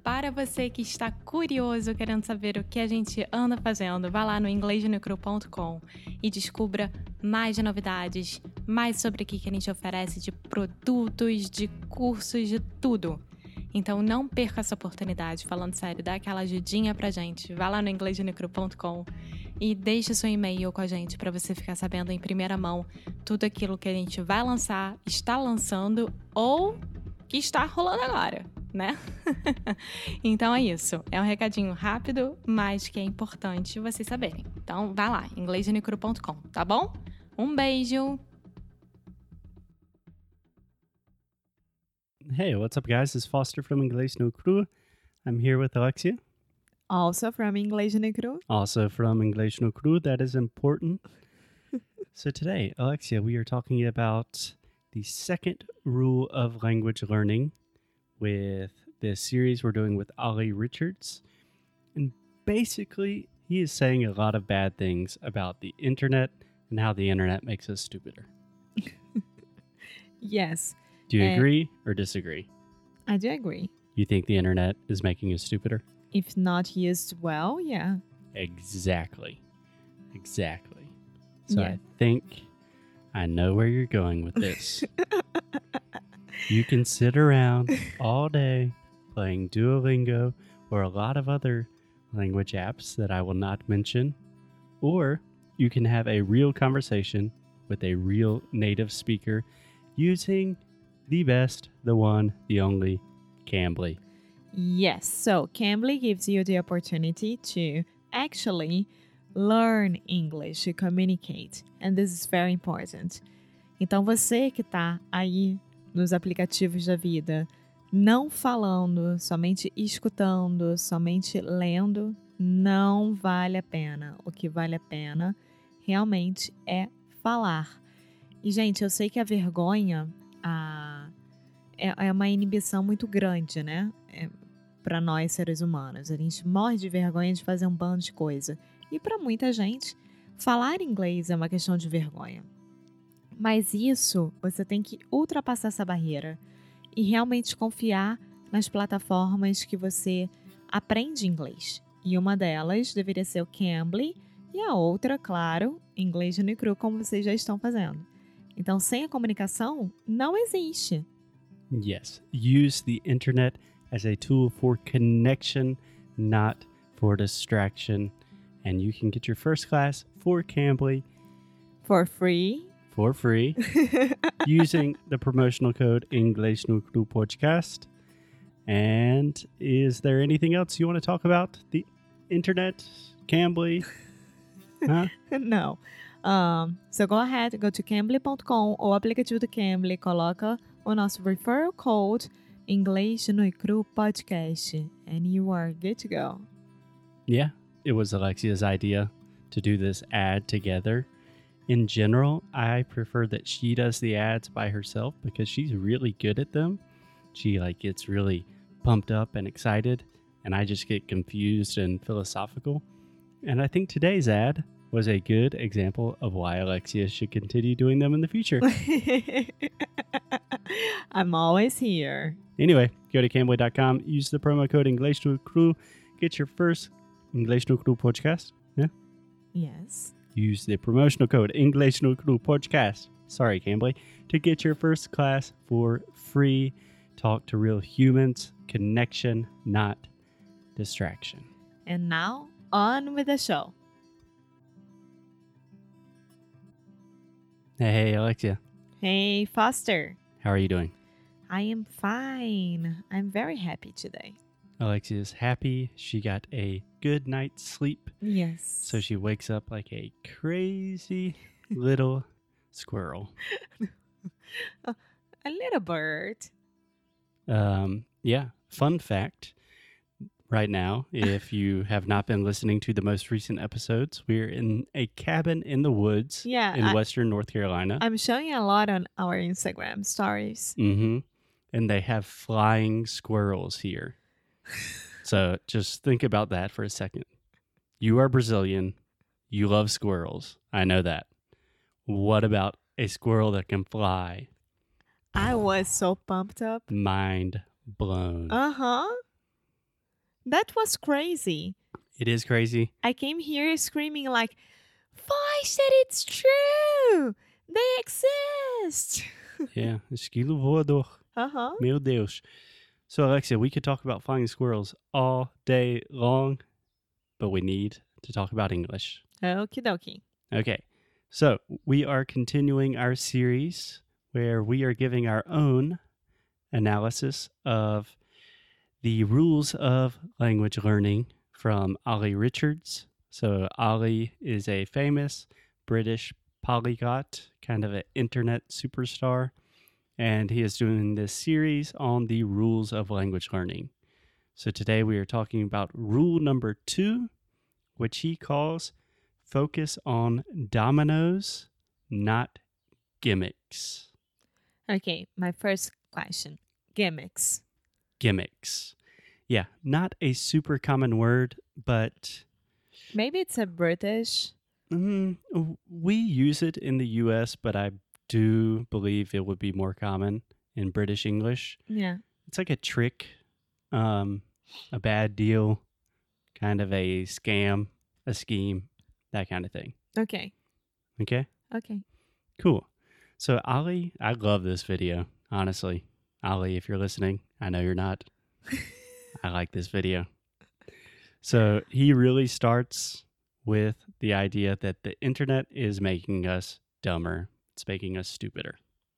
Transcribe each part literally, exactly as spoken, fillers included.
Para você que está curioso, querendo saber o que a gente anda fazendo, vá lá no inglês no cru ponto com e descubra mais de novidades, mais sobre o que a gente oferece de produtos, de cursos, de tudo. Então não perca essa oportunidade, falando sério, dá aquela ajudinha pra gente. Vá lá no inglês no cru ponto com e deixe seu e-mail com a gente para você ficar sabendo em primeira mão tudo aquilo que a gente vai lançar, está lançando ou que está rolando agora, né? Então é isso. É um recadinho rápido, mas que é importante vocês saberem. Então vá lá, inglês no cru ponto com, tá bom? Um beijo! Hey, what's up, guys? This is Foster from Inglês no Cru. I'm here with Alexia. Also from Inglês no Cru. Also from Inglês no Cru. That is important. So today, Alexia, we are talking about the second rule of language learning with this series we're doing with Ollie Richards. And basically, he is saying a lot of bad things about the internet and how the internet makes us stupider. Yes. Do you Uh, agree or disagree? I do agree. You think the internet is making us stupider? If not used well, yeah. Exactly. Exactly. So Yeah. I think I know where you're going with this. You can sit around all day playing Duolingo or a lot of other language apps that I will not mention, or you can have a real conversation with a real native speaker using the best, the one, the only, Cambly. Yes. So Cambly gives you the opportunity to actually learn English, to communicate. And this is very important. Então você que está aí nos aplicativos da vida, não falando, somente escutando, somente lendo, não vale a pena. O que vale a pena realmente é falar. E, gente, eu sei que a vergonha a, é, é uma inibição muito grande, né? É, para nós, seres humanos. A gente morre de vergonha de fazer um bando de coisa. E para muita gente, falar inglês é uma questão de vergonha. Mas isso, você tem que ultrapassar essa barreira e realmente confiar nas plataformas que você aprende inglês. E uma delas deveria ser o Cambly e a outra, claro, Inglês no Cru, como vocês já estão fazendo. Então, sem a comunicação, não existe. Yes. Use the internet as a tool for connection, not for distraction. And you can get your first class for Cambly For free. for free using the promotional code Inglês no Cru Podcast. And is there anything else you want to talk about? The internet, Cambly? Huh? Não. Um, so go ahead, go to cambly ponto com ou aplicativo do Cambly, coloca o nosso referral code Inglês no Cru Podcast and you are good to go. Yeah, it was Alexia's idea to do this ad together. In general, I prefer that she does the ads by herself because she's really good at them. She like gets really pumped up and excited, and I just get confused and philosophical. And I think today's ad was a good example of why Alexia should continue doing them in the future. I'm always here. Anyway, go to cambly dot com, use the promo code Inglês no Cru, get your first Inglês no Cru podcast. Yeah. Yes. Use the promotional code Inglês no Cru Podcast, sorry, Cambly, to get your first class for free. Talk to real humans, connection, not distraction. And now, on with the show. Hey, hey, Alexia, Hey, Foster. how are you doing? I am fine. I'm very happy today. Alexia is happy. She got a good night's sleep, Yes. so she wakes up like a crazy little squirrel. A little bird. Um, yeah, fun fact. Right now, if you have not been listening to the most recent episodes, we're in a cabin in the woods Yeah, in I- western North Carolina. I'm showing a lot on our Instagram stories. Mm-hmm. And they have flying squirrels here. So just think about that for a second. You are Brazilian. You love squirrels. I know that. What about a squirrel that can fly? I was so pumped up. Mind blown. Uh-huh. That was crazy. It is crazy. I came here screaming like, Foy said it's true. They exist. Yeah, esquilo voador. Uh-huh. Meu Deus. So, Alexia, we could talk about finding squirrels all day long, but we need to talk about English. Okie dokie. Okay, so we are continuing our series where we are giving our own analysis of the rules of language learning from Ollie Richards. So Ollie is a famous British polyglot, kind of an internet superstar, and he is doing this series on the rules of language learning. So today we are talking about rule number two, which he calls focus on dominoes, not gimmicks. Okay, my first question. Gimmicks. Gimmicks. Yeah, not a super common word, but Maybe it's a British. mm, we use it in the U S, but I do believe it would be more common in British English. Yeah. It's like a trick, um, a bad deal, kind of a scam, a scheme, that kind of thing. Okay. Okay? Okay. Cool. So, Ollie, I love this video, honestly. Ollie, if you're listening, I know you're not. I like this video. So, he really starts with the idea that the internet is making us dumber. It's making us stupider.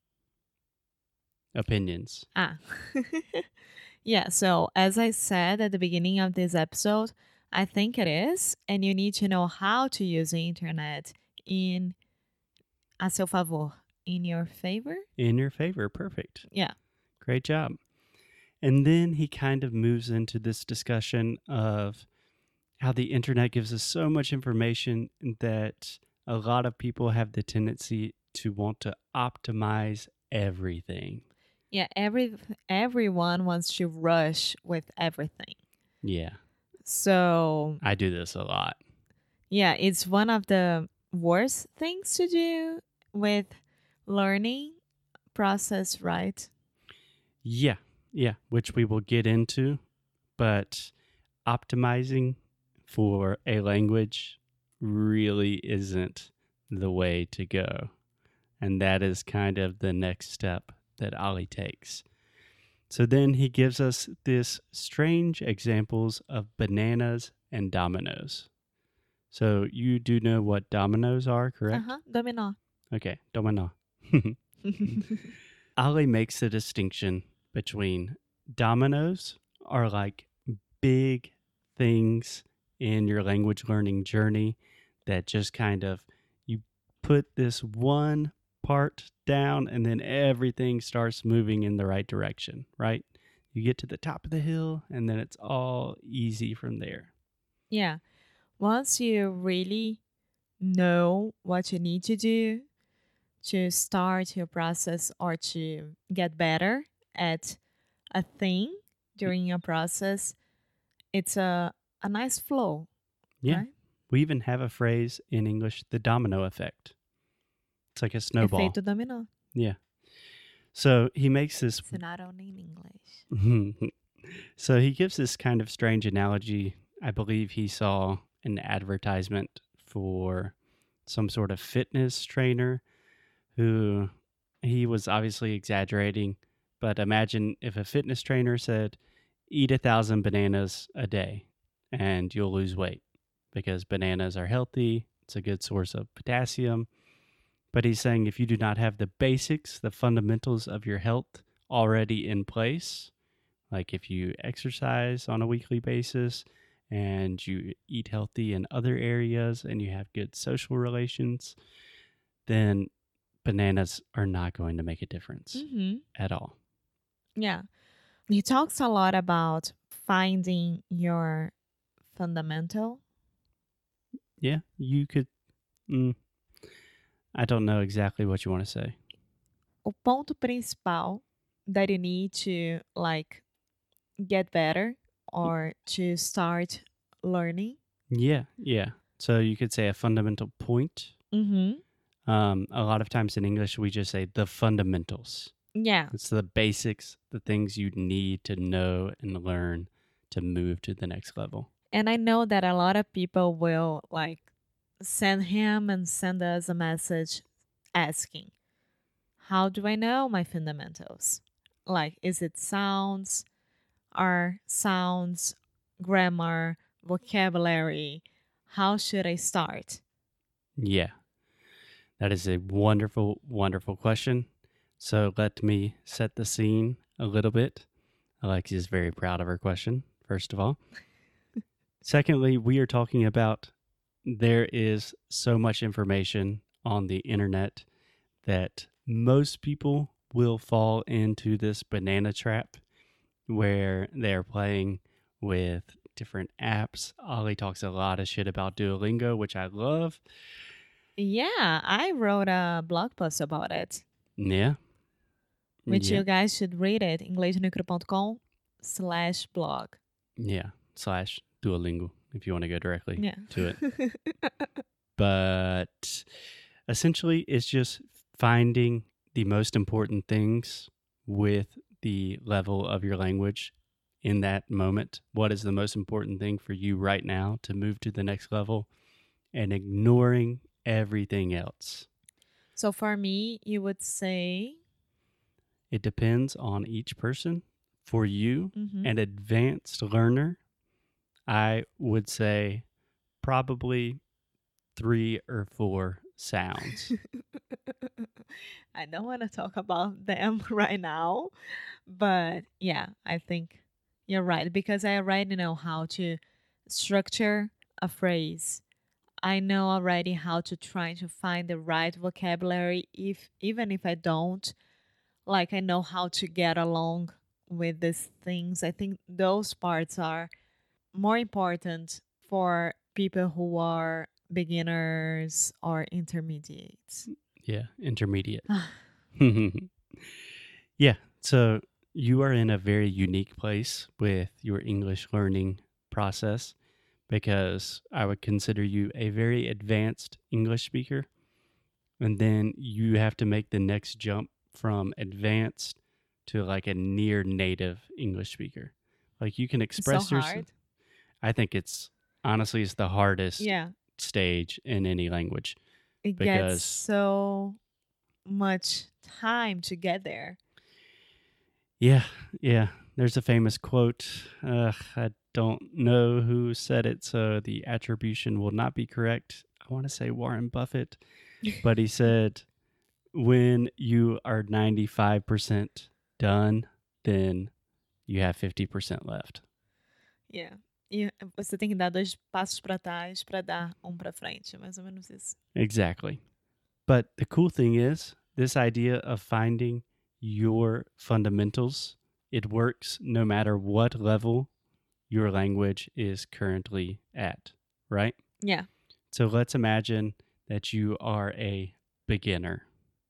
Opinions. Ah. Yeah, so as I said at the beginning of this episode, I think it is, and you need to know how to use the internet in a seu favor, in your favor. In your favor. Perfect. Yeah. Great job. And then he kind of moves into this discussion of how the internet gives us so much information that a lot of people have the tendency to want to optimize everything. Yeah, every everyone wants to rush with everything. Yeah, So, I do this a lot. yeah, it's one of the worst things to do with learning process, right? Yeah, yeah, which we will get into. But optimizing for a language really isn't the way to go. And that is kind of the next step that Ollie takes. So then he gives us this strange examples of bananas and dominoes. So you do know what dominoes are, correct? Uh-huh. Domino. Okay, domino. Ollie makes the distinction between dominoes are like big things in your language learning journey that just kind of, you put this one part down and then everything starts moving in the right direction, right? You get to the top of the hill and then it's all easy from there. Yeah. Once you really know what you need to do to start your process or to get better at a thing during your process, it's a, a nice flow. Yeah. Right? We even have a phrase in English, the domino effect. It's like a snowball. Efeito dominó. Yeah. So he makes this So not only in English. So he gives this kind of strange analogy. I believe he saw an advertisement for some sort of fitness trainer who, he was obviously exaggerating, but imagine if a fitness trainer said, eat a thousand bananas a day and you'll lose weight because bananas are healthy. It's a good source of potassium. But he's saying if you do not have the basics, the fundamentals of your health already in place, like if you exercise on a weekly basis and you eat healthy in other areas and you have good social relations, then bananas are not going to make a difference Mm-hmm. at all. Yeah. He talks a lot about finding your fundamental. Yeah, you could. Mm, I don't know exactly what you want to say. O ponto principal that you need to like get better or to start learning. Yeah, yeah. So you could say a fundamental point. Mm-hmm. Um, a lot of times in English, we just say the fundamentals. Yeah. It's the basics, the things you need to know and learn to move to the next level. And I know that a lot of people will like send him and send us a message asking, how do I know my fundamentals? Like, is it sounds, are sounds, grammar, vocabulary? How should I start? Yeah, that is a wonderful, wonderful question. So let me set the scene a little bit. Alexia is very proud of her question, first of all. Secondly, we are talking about there is so much information on the internet that most people will fall into this banana trap where they're playing with different apps. Ollie talks a lot of shit about Duolingo, which I love. Yeah, I wrote a blog post about it, Yeah. which yeah. you guys should read it, inglesnucro.com slash blog. Yeah. Slash Duolingo if you want to go directly Yeah. to it. But essentially, it's just finding the most important things with the level of your language in that moment. What is the most important thing for you right now to move to the next level, and ignoring everything else? So for me, you would say, It depends on each person. For you, Mhm. an advanced learner, I would say probably three or four sounds. I don't want to talk about them right now, but yeah, I think you're right because I already know how to structure a phrase. I know already how to try to find the right vocabulary if even if I don't, like I know how to get along with these things. I think those parts are more important for people who are beginners or intermediates. Yeah, intermediate. Yeah, so you are in a very unique place with your English learning process because I would consider you a very advanced English speaker. And then you have to make the next jump from advanced to like a near native English speaker. Like you can It's so express yourself. hard. I think it's honestly it's the hardest Yeah, stage in any language it gets because so much time to get there. yeah, yeah. There's a famous quote. Uh, I don't know who said it, so the attribution will not be correct. I want to say Warren Buffett, but he said, when you are ninety-five percent done, then you have fifty percent left. Yeah. E você tem que dar dois passos para trás para dar um para frente, mais ou menos isso. Exactly. But the cool thing is, this idea of finding your fundamentals, it works no matter what level your language is currently at, right? Yeah. So let's imagine that you are a beginner.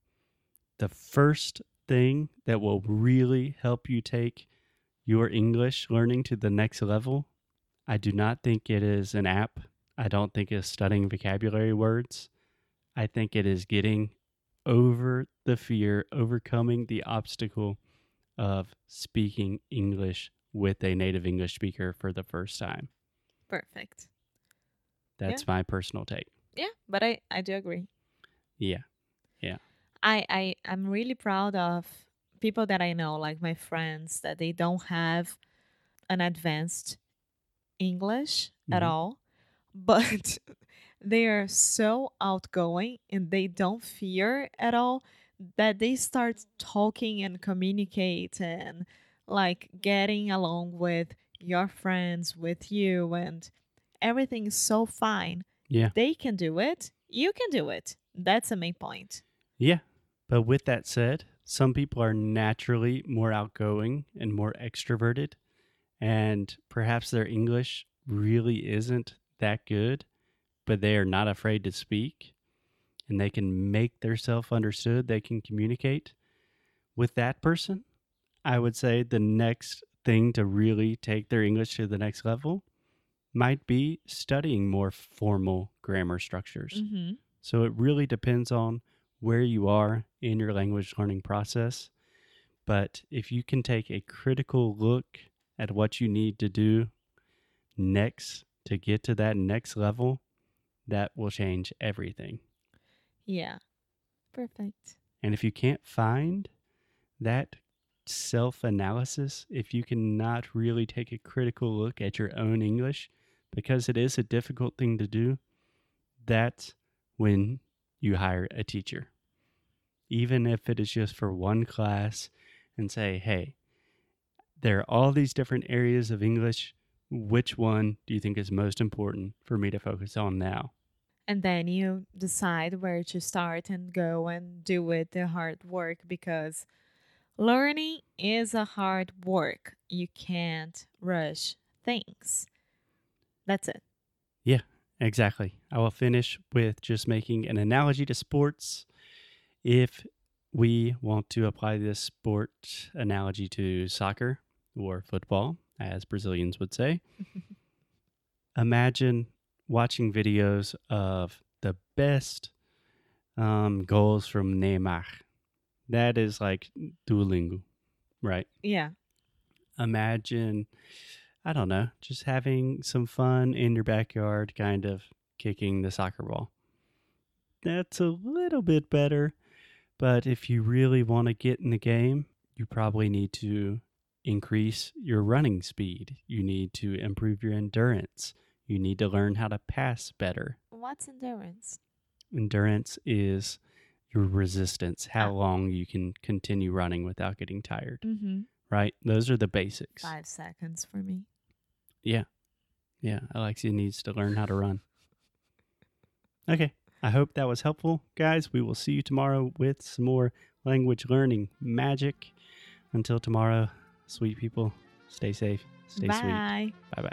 The first thing that will really help you take your English learning to the next level, I do not think it is an app. I don't think it's studying vocabulary words. I think it is getting over the fear, overcoming the obstacle of speaking English with a native English speaker for the first time. Perfect. That's Yeah. my personal take. Yeah, but I, I do agree. Yeah. I, I I'm really proud of people that I know, like my friends, that they don't have an advanced English at Mhm. all, but they are so outgoing and they don't fear at all that they start talking and communicate and like getting along with your friends, with you, and everything is so fine. Yeah. They can do it. You can do it. That's the main point. Yeah. But with that said, some people are naturally more outgoing and more extroverted, and perhaps their English really isn't that good, but they are not afraid to speak and they can make themselves understood. They can communicate. With that person, I would say the next thing to really take their English to the next level might be studying more formal grammar structures. Mm-hmm. So it really depends on where you are in your language learning process. But if you can take a critical look at what you need to do next to get to that next level, that will change everything. Yeah. Perfect. And if you can't find that self-analysis, if you cannot really take a critical look at your own English, because it is a difficult thing to do, that's when you hire a teacher. Even if it is just for one class, and say, hey, there are all these different areas of English. Which one do you think is most important for me to focus on now? And then you decide where to start and go and do it the hard work, because learning is a hard work. You can't rush things. That's it. Yeah, exactly. I will finish with just making an analogy to sports. If we want to apply this sport analogy to soccer or football, as Brazilians would say, imagine watching videos of the best um, goals from Neymar. That is like Duolingo, right? Yeah. Imagine, I don't know, just having some fun in your backyard, kind of kicking the soccer ball. That's a little bit better, but if you really want to get in the game, you probably need to increase your running speed. You need to improve your endurance. You need to learn how to pass better. What's endurance? Endurance is your resistance, how Ah. long you can continue running without getting tired, Mm-hmm. right? Those are the basics. Five seconds for me. Yeah. Yeah. Alexia needs to learn how to run. Okay. I hope that was helpful, guys. We will see you tomorrow with some more language learning magic. Until tomorrow, sweet people, stay safe, stay Bye. sweet. Bye-bye.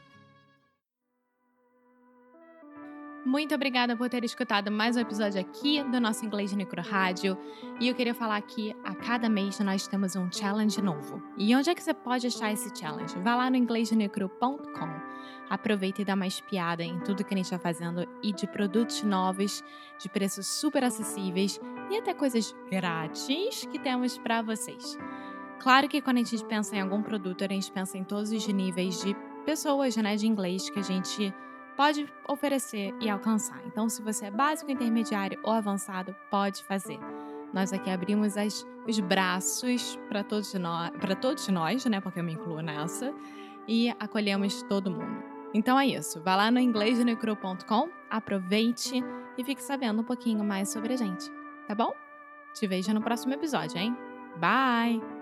Muito obrigada por ter escutado mais um episódio aqui do nosso Inglês no Micro Rádio. E eu queria falar que a cada mês nós temos um challenge novo. E onde é que você pode achar esse challenge? Vá lá no inglês no micro ponto com. Aproveita e dá uma espiada em tudo que a gente está fazendo e de produtos novos, de preços super acessíveis e até coisas grátis que temos para vocês. Claro que quando a gente pensa em algum produto, a gente pensa em todos os níveis de pessoas, né, de inglês que a gente pode oferecer e alcançar. Então, se você é básico, intermediário ou avançado, pode fazer. Nós aqui abrimos as, os braços para todos nós, para todos nós, né? Porque eu me incluo nessa, e acolhemos todo mundo. Então é isso. Vá lá no inglês no micro ponto com, aproveite e fique sabendo um pouquinho mais sobre a gente, tá bom? Te vejo no próximo episódio, hein? Bye!